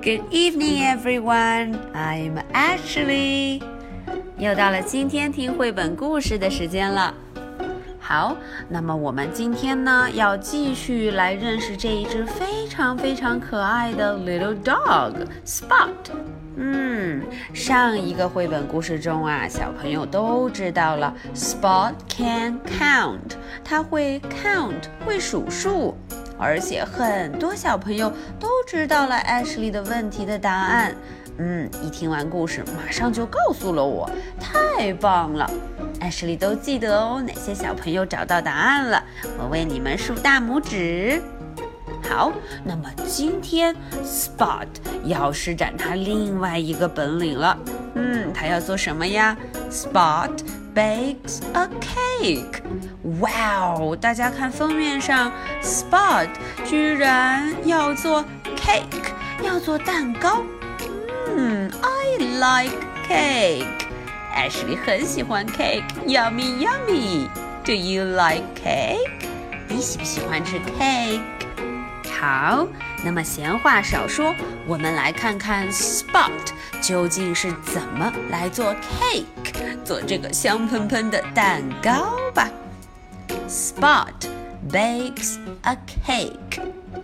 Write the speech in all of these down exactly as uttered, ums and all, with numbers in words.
Good evening, everyone. I'm Ashley. 又到了今天听绘本故事的时间了。好，那么我们今天呢，要继续来认识这一只非常非常可爱的 little dog, Spot。嗯，上一个绘本故事中啊，小朋友都知道了 Spot can count， 他会 count， 会数数。而且很多小朋友都知道了 Ashley 的问题的答案。嗯，一听完故事马上就告诉了我，太棒了。 Ashley 都记得哦，哪些小朋友找到答案了，我为你们竖大拇指。好，那么今天 Spot 要施展他另外一个本领了。嗯，他要做什么呀？ Spot bakes a cake。 哇哦，大家看封面上 Spot 居然要做 cake， 要做蛋糕。嗯 I like cake。 Ashley 很喜欢 cake， Yummy yummy。 Do you like cake？ 你喜不喜欢吃 cake？ 好，那么闲话少说，我们来看看 Spot 究竟是怎么来做 cake， 做这个香喷喷的蛋糕吧。 Spot bakes a cake.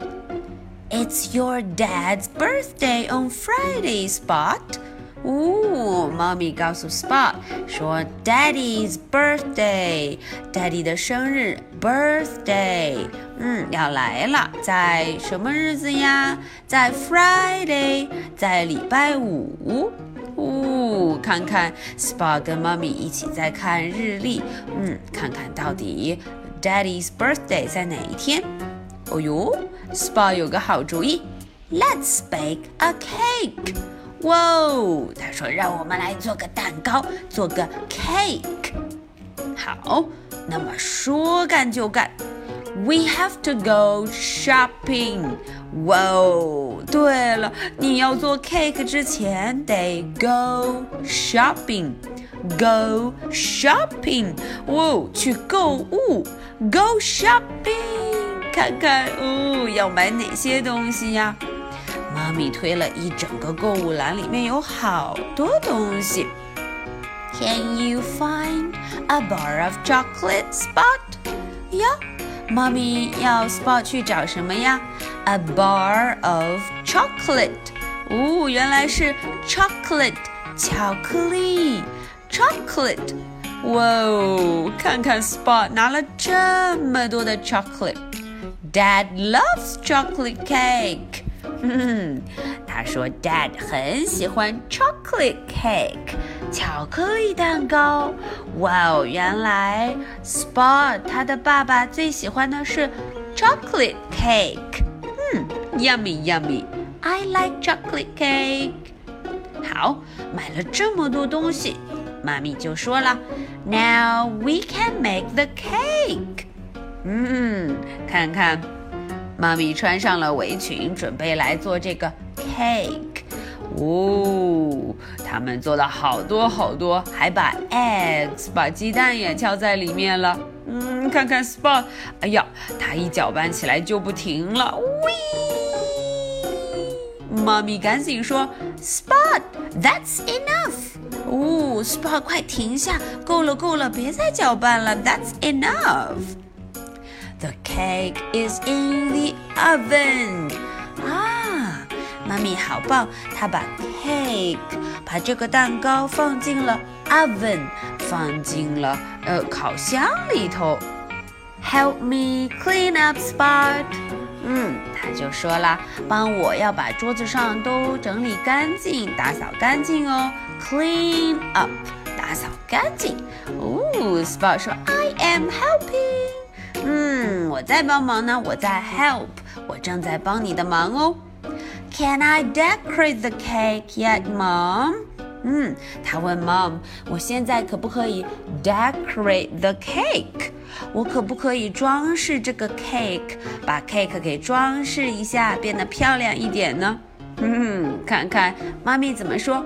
It's your dad's birthday on Friday, Spot. 哦，妈咪告诉 Spot 说 Daddy's birthday， Daddy 的生日 birthday， 嗯，要来了，在什么日子呀？在 Friday， 在礼拜五。哦，看看 Spot 跟妈咪一起在看日历，嗯，看看到底 Daddy's birthday 在哪一天。哦哟 Spot 有个好主意， Let's bake a cake。哇哦，他说让我们来做个蛋糕，做个 cake。 好，那么说干就干， We have to go shopping。 哇哦，对了，你要做 cake 之前得 go shopping。 Go shopping， 哇哦，去购物 Go shopping， 看看哦，要买哪些东西呀？妈咪推了一整个购物篮，里面有好多东西。 Can you find a bar of chocolate, Spot？ 呀，妈咪要 Spot 去找什么呀？ A bar of chocolate。 哦，原来是 chocolate， 巧克力 chocolate。 哇哦，看看 Spot 拿了这么多的 chocolate。 Dad loves chocolate cake。嗯，他说 Dad 很喜欢 chocolate cake， 巧克力蛋糕。哇哦，原来 Spot 他的爸爸最喜欢的是 chocolate cake。 嗯 Yummy yummy I like chocolate cake。 好，买了这么多东西，妈咪就说了 Now we can make the cake。 嗯，看看妈咪穿上了围裙，准备来做这个 cake。 哦，他们做了好多好多，还把 eggs 把鸡蛋也敲在里面了。嗯，看看 Spot， 哎呀，他一搅拌起来就不停了。喂，妈咪赶紧说 Spot that's enough。 哦 Spot 快停下，够了够了，别再搅拌了， that's enough。The cake is in the oven。 啊，妈咪好棒，她把 cake 把这个蛋糕放进了 oven， 放进了呃烤箱里头。 Help me clean up, Spot。 嗯，她就说啦，帮我要把桌子上都整理干净，打扫干净哦。 Clean up， 打扫干净。哦 Spot 说 I am helping。嗯，我在帮忙呢，我在 help， 我正在帮你的忙哦。 Can I decorate the cake yet, Mom？ 嗯，他问 Mom， 我现在可不可以 decorate the cake？ 我可不可以装饰这个 cake， 把 cake 给装饰一下，变得漂亮一点呢？嗯，看看妈咪怎么说。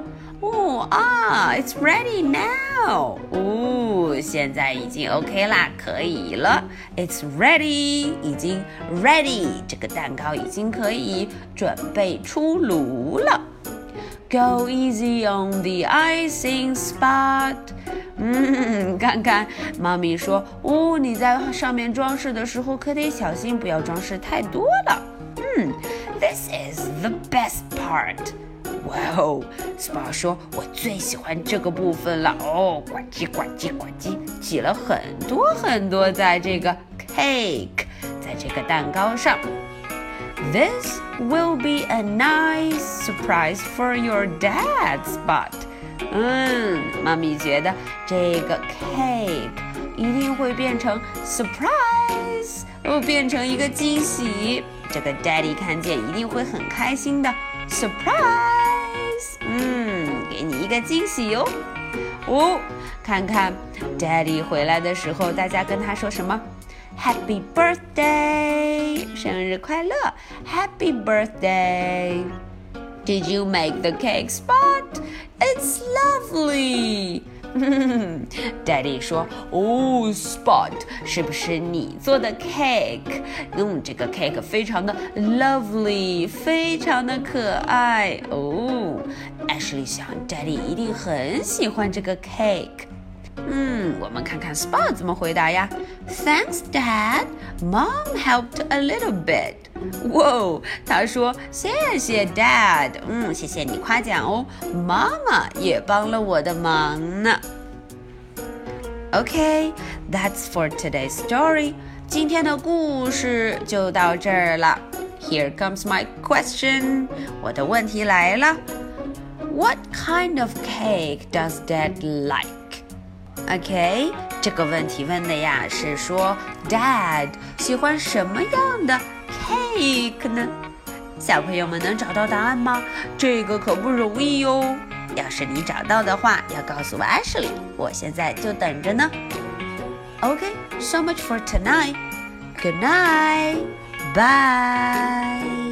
哦啊 ，It's ready now。哦，现在已经 OK 啦，可以了。It's ready， 已经 ready， 这个蛋糕已经可以准备出炉了。Go easy on the icing spot。嗯，看看，妈咪说，哦，你在上面装饰的时候可得小心，不要装饰太多了。嗯 ，This is the best part。哇哦 ，Spot 说，我最喜欢这个部分了。哦，呱唧呱唧呱唧，挤了很多很多在这个 cake， 在这个蛋糕上。This will be a nice surprise for your dad, Spot。嗯，妈咪觉得这个 cake 一定会变成 surprise， 哦，变成一个惊喜。这个 Daddy 看见一定会很开心的 surprise。嗯，给你一个惊喜哟。哦，看看 Daddy 回来的时候，大家跟他说什么 ？Happy birthday， 生日快乐 ！Happy birthday。Did you make the cake, Spot? It's lovely. Daddy 说，哦 ，Spot， 是不是你做的 cake？ 嗯，这个 cake 非常的 lovely， 非常的可爱。哦 ，Ashley 想 ，Daddy 一定很喜欢这个 cake。嗯，我们看看 Spot 怎么回答呀 ？Thanks, Dad. Mom helped a little bit. 哇，他说谢谢 Dad， 嗯，谢谢你夸奖哦，妈妈也帮了我的忙呢。Okay, that's for today's story. 今天的故事就到这儿了。Here comes my question. 我的问题来了。What kind of cake does Dad like?OK， 这个问题问的呀是说 Dad 喜欢什么样的 cake 呢？小朋友们能找到答案吗？这个可不容易哟。要是你找到的话，要告诉 Ashley， 我现在就等着呢。OK, so much for tonight. Good night. Bye.